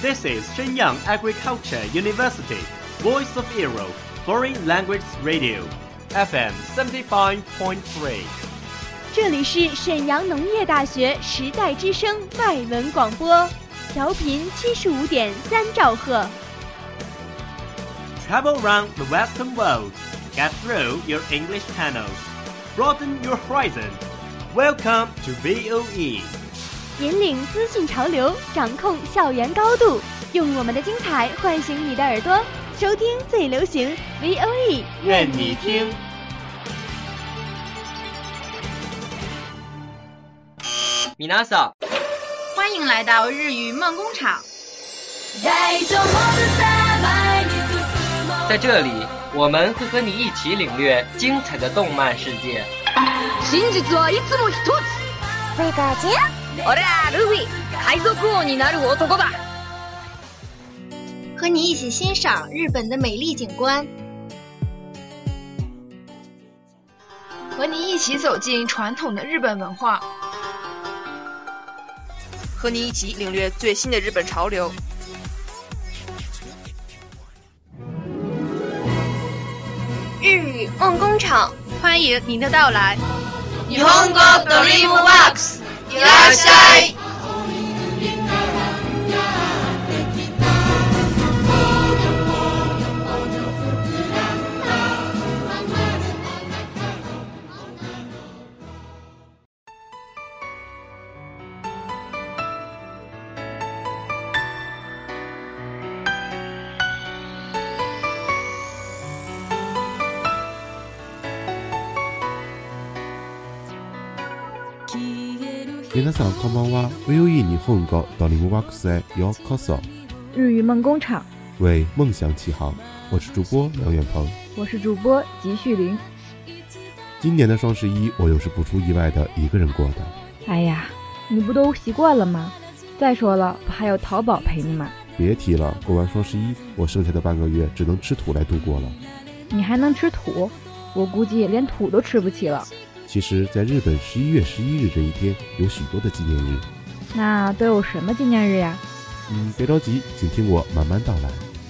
This is Shenyang Agriculture University, Voice of Europe, Foreign Language Radio, FM 75.3。 这里是沈阳农业大学时代之声外文广播，调频75.3兆赫。 Travel around the Western world, get through your English channels, broaden your horizon. Welcome to VOE. 引领资讯潮流，掌控校园高度，用我们的精彩唤醒你的耳朵，收听最流行 VOE， 愿你听。 米娜桑， 欢迎来到日语梦工厂。 在这里，我们会和你一起领略精彩的动漫世界。 真実はいつも一つ。 贝卡姐。 俺はルフィ，海賊王になる男だ。 和你一起欣赏日本的美丽景观， 和你一起走进传统的日本文化， 和你一起领略最新的日本潮流。 日语梦工厂， 欢迎您的到来。 日本語ドリームワークス。いらっしゃい。 皆さんこんばんは。VOE 日本語ドリームワークスへようこそ。 日语梦工厂， 为梦想起航。我是主播梁远鹏， 我是主播吉旭林。 今年的双11，我又是不出意外的一个人过的。 哎呀，你不都习惯了吗？再说了，不还有淘宝陪你吗？ 别提了，过完双11，我剩下的半个月只能吃土来度过了。 你还能吃土？我估计连土都吃不起了。 其实在日本11月11日这一天有许多的纪念日。 那都有什么纪念日呀？ 别着急，请听我慢慢道来。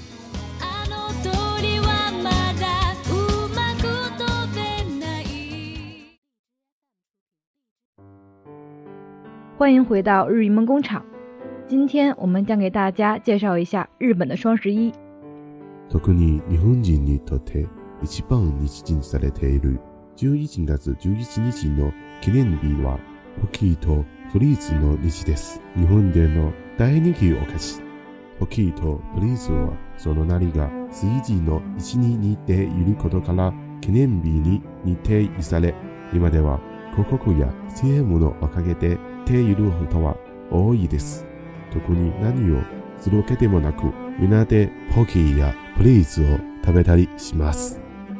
欢迎回到日语梦工厂，今天我们将给大家介绍一下日本的双11。 特に日本人にとって一番日にされている11月11日の記念日はポキーとプリーツの日です。日本での大人気お菓子。ポキーとプリーツはその名が数字の1に似ていることから記念日に認定され、今では広告や CM のおかげでている人は多いです。特に何をするわけでもなく、みんなでポキーやプリーツを食べたりします。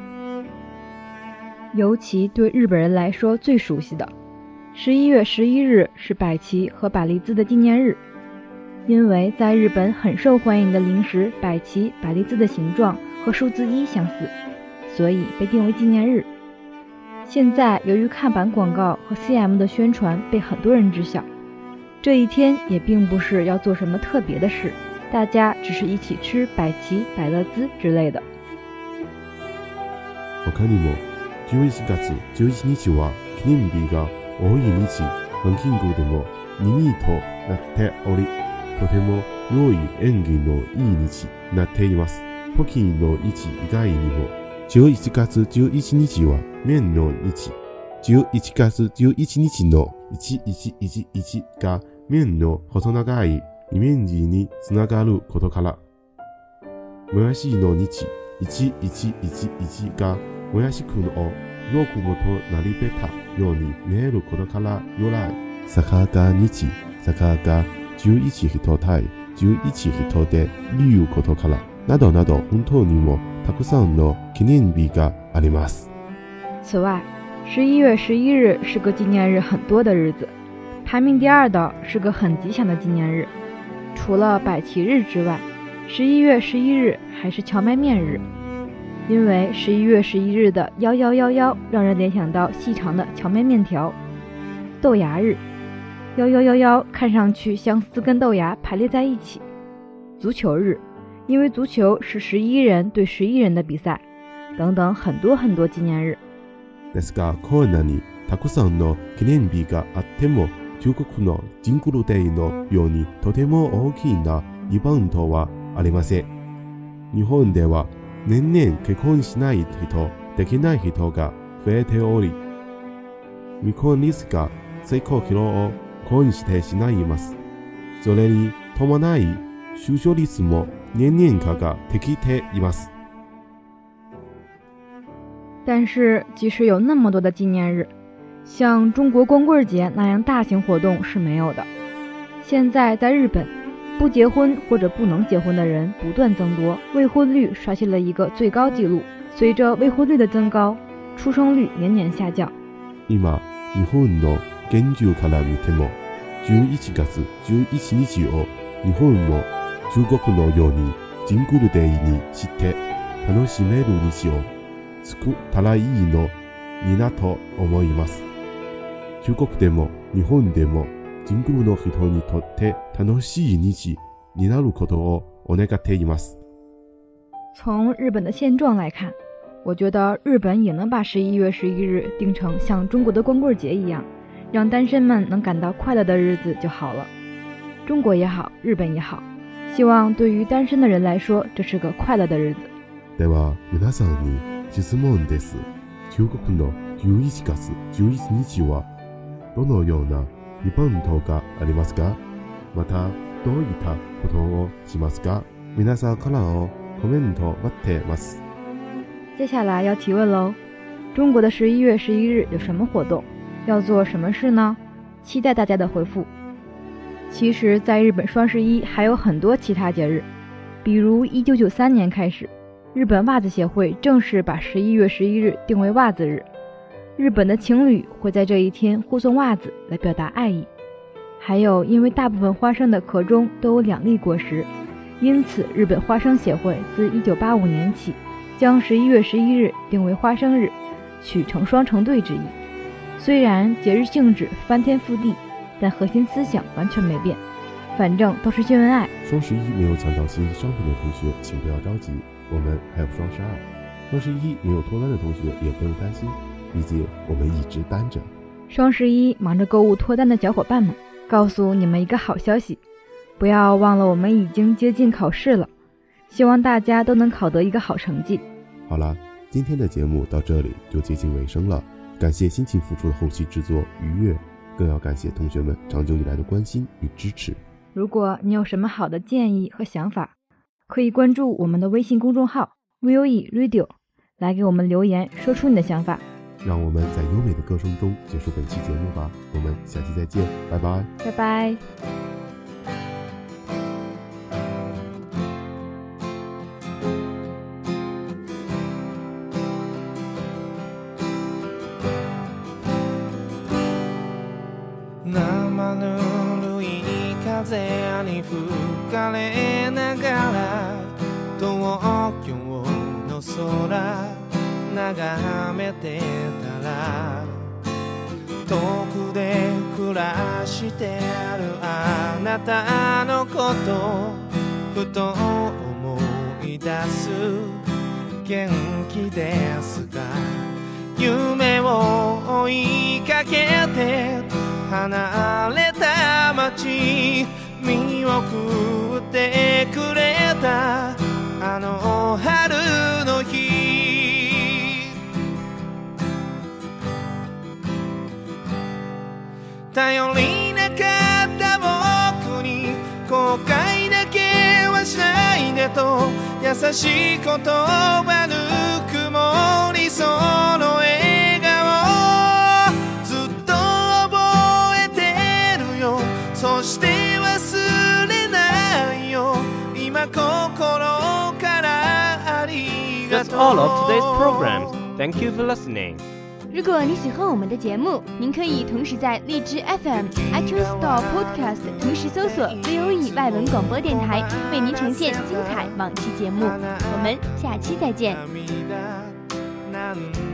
尤其对日本人来说最熟悉的11月11日是百奇和百利滋的纪念日，因为在日本很受欢迎的零食百奇、百利滋的形状和数字1相似，所以被定为纪念日。现在由于看板广告和 CM 的宣传被很多人知晓，这一天也并不是要做什么特别的事，大家只是一起吃百奇、百乐滋之类的。 他にも11月11日は記念日が多い日、ランキングでも2位となっており、とても良い縁起のいい日になっています。ポキの日以外にも11月11日は麺の日、11月11日の1111が麺の細長いイメージにつながることから、もやしの日1111がもやしくんをよくもと並べたように見えることから由来、坂が日、坂が11人対11人でいうことからなどなど、本当にもたくさんの記念日があります。 此外，11月11日是个纪念日很多的日子，排名第2的是个很吉祥的纪念日。除了百奇日之外，11月11日还是荞麦面日。因为11月11日的1111让人联想到细长的荞麦面条。豆芽日，1111看上去像4根豆芽排列在一起。 足球日，因为足球是11人对11人的比赛，等等很多很多纪念日。 ですがこんなにたくさんの記念日があっても、中国のジングルデーのようにとても大きなイベントはありません。日本では年々結婚しない人、できない人が増えており、未婚率が最高記録を更新してしまいます。それに伴い出生率も年々化ができています。 但是即使有那么多的纪念日，像中国光棍节那样大型活动是没有的。现在在日本，不结婚或者不能结婚的人不断增多，未婚率刷新了一个最高纪录。随着未婚率的增高，出生率年年下降。 今、日本の現状から見ても、11月11日を日本も中国のようにジングルデーにして楽しめる日を作ったらいいのになと思います。中国でも日本でもジングルの人にとって楽しい日になることをお願っています。 从日本的现状来看，我觉得日本也能把11月11日定成像中国的光棍節一样，让单身们能感到快乐的日子就好了。中国也好，日本也好，希望对于单身的人来说，这是个快乐的日子。 では皆さんに質問です。中国の11月11日はどのようなイベントがありますか？またどういったことをしますか？皆さんからのコメント待ってます。 接下来要提问喽，中国的11月11日有什么活动？要做什么事呢？期待大家的回复。其实在日本双11还有很多其他节日，比如1993年开始，日本袜子协会正式把11月11日定为袜子日，日本的情侣会在这一天互送袜子来表达爱意。还有因为大部分花生的壳中都有2粒果实，因此日本花生协会自1985年起将11月11日定为花生日，取成双成对之意。虽然节日性质翻天覆地，但核心思想完全没变，反正都是秀恩爱。 双11没有抢到新商品的同学请不要着急，我们还有双12。双11没有脱单的同学也不用担心，毕竟我们一直单着。 双11忙着购物脱单的小伙伴们，告诉你们一个好消息，不要忘了我们已经接近考试了，希望大家都能考得一个好成绩。 好了，今天的节目到这里就接近尾声了，感谢辛勤付出的后期制作愉悦，更要感谢同学们长久以来的关心与支持。 如果你有什么好的建议和想法，可以关注我们的微信公众号 VOE Radio 来给我们留言，说出你的想法。 让我们在优美的歌声中结束本期节目吧，我们下期再见，拜拜， 拜拜。 生ぬるい風に吹かれながら東京の空眺めてたら、遠くで暮らしてるあなたのことふと思い出す。元気ですか？夢を追いかけて離れた街見送ってくれたあの春の日、頼りなかった僕に後悔だけはしないでと優しい言葉ぬくもりその笑顔ずっと覚えてるよ、そして忘れないよ今心からありがとう。 That's all of today's programs. Thank you for listening. 如果你喜欢我们的节目，您可以同时在荔枝 FM、iTunes Store Podcast 同时搜索 VOE 外文广播电台，为您呈现精彩往期节目。我们下期再见。